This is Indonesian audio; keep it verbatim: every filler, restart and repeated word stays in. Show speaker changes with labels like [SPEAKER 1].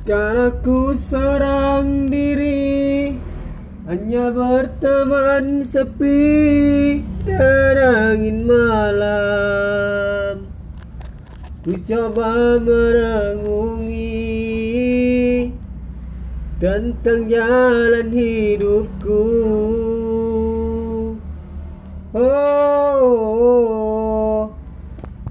[SPEAKER 1] Sekarang aku seorang diri, hanya berteman sepi dan angin malam. Ku coba merenungi tentang jalan hidupku.